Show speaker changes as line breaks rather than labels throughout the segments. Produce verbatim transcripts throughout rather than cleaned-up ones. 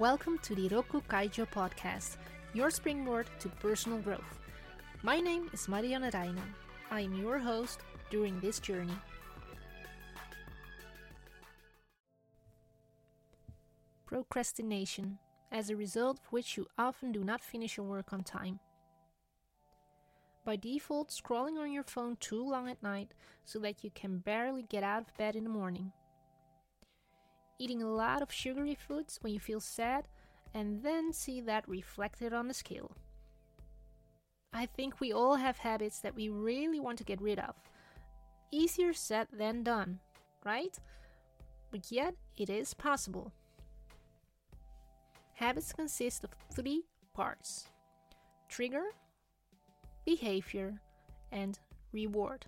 Welcome to the Roku Kaijo podcast, your springboard to personal growth. My name is Marianne Reijnen. I am your host during this journey. Procrastination, as a result of which you often do not finish your work on time. By default, scrolling on your phone too long at night so that you can barely get out of bed in the morning. Eating a lot of sugary foods when you feel sad and then see that reflected on the scale. I think we all have habits that we really want to get rid of. Easier said than done, right? But yet, it is possible. Habits consist of three parts: trigger, behavior, and reward.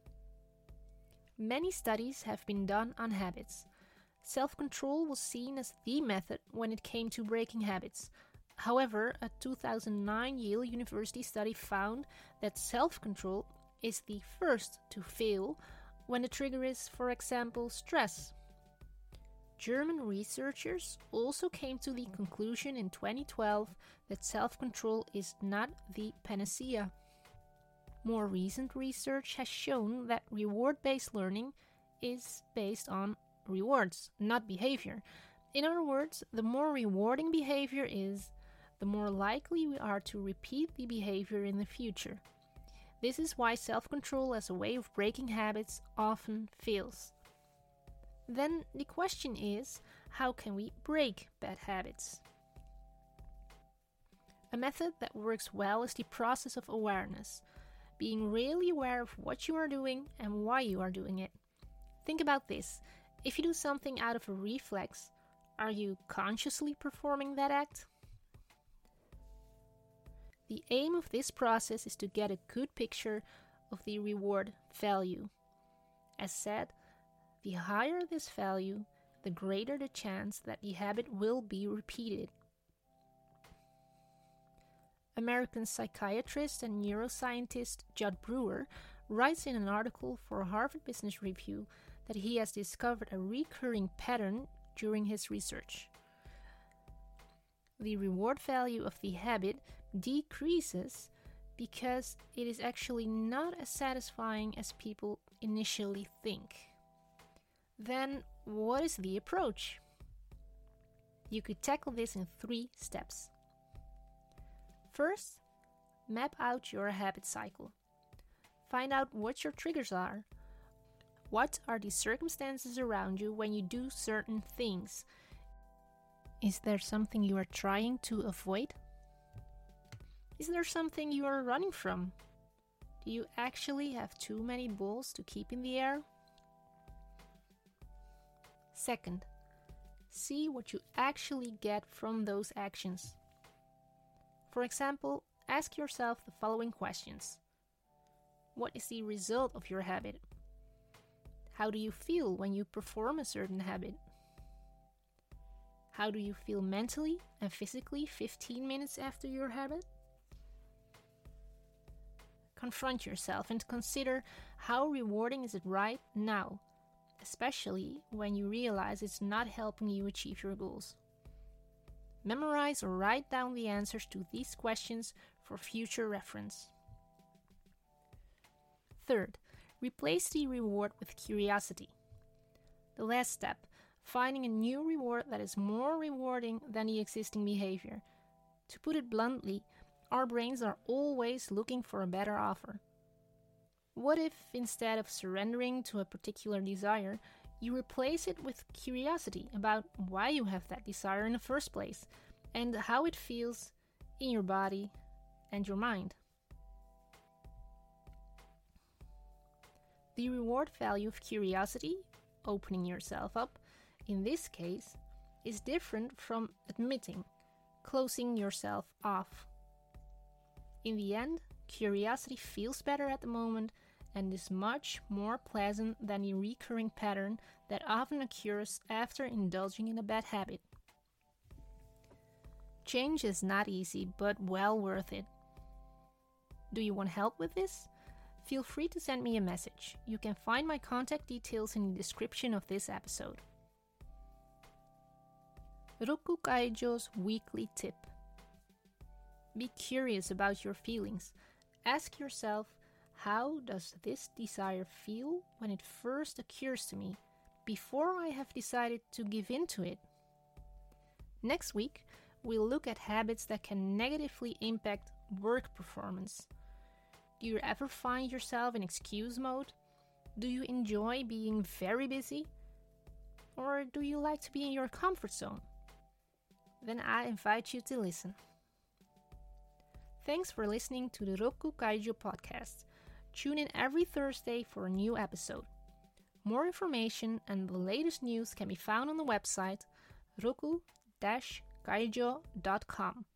Many studies have been done on habits. Self-control was seen as the method when it came to breaking habits. However, a two thousand nine Yale University study found that self-control is the first to fail when the trigger is, for example, stress. German researchers also came to the conclusion in twenty twelve that self-control is not the panacea. More recent research has shown that reward-based learning is based on rewards, not behavior. In other words, the more rewarding behavior is, the more likely we are to repeat the behavior in the future. This is why self-control as a way of breaking habits often fails. Then the question is, how can we break bad habits? A method that works well is the process of awareness, being really aware of what you are doing and why you are doing it. Think about this. If you do something out of a reflex, are you consciously performing that act? The aim of this process is to get a good picture of the reward value. As said, the higher this value, the greater the chance that the habit will be repeated. American psychiatrist and neuroscientist Judd Brewer writes in an article for Harvard Business Review that he has discovered a recurring pattern during his research. The reward value of the habit decreases because it is actually not as satisfying as people initially think. Then, what is the approach? You could tackle this in three steps. First, map out your habit cycle. Find out what your triggers are. What are the circumstances around you when you do certain things? Is there something you are trying to avoid? Is there something you are running from? Do you actually have too many balls to keep in the air? Second, see what you actually get from those actions. For example, ask yourself the following questions. What is the result of your habit? How do you feel when you perform a certain habit? How do you feel mentally and physically fifteen minutes after your habit? Confront yourself and consider how rewarding is it right now, especially when you realize it's not helping you achieve your goals. Memorize or write down the answers to these questions for future reference. Third, replace the reward with curiosity. The last step, finding a new reward that is more rewarding than the existing behavior. To put it bluntly, our brains are always looking for a better offer. What if, instead of surrendering to a particular desire, you replace it with curiosity about why you have that desire in the first place and how it feels in your body and your mind? The reward value of curiosity, opening yourself up, in this case, is different from admitting, closing yourself off. In the end, curiosity feels better at the moment and is much more pleasant than the recurring pattern that often occurs after indulging in a bad habit. Change is not easy, but well worth it. Do you want help with this? Feel free to send me a message. You can find my contact details in the description of this episode. Roku Kaijo's weekly tip. Be curious about your feelings. Ask yourself, how does this desire feel when it first occurs to me, before I have decided to give in to it? Next week, we'll look at habits that can negatively impact work performance. Do you ever find yourself in excuse mode? Do you enjoy being very busy? Or do you like to be in your comfort zone? Then I invite you to listen. Thanks for listening to the Roku Kaijo podcast. Tune in every Thursday for a new episode. More information and the latest news can be found on the website roku dash kaijo dot com.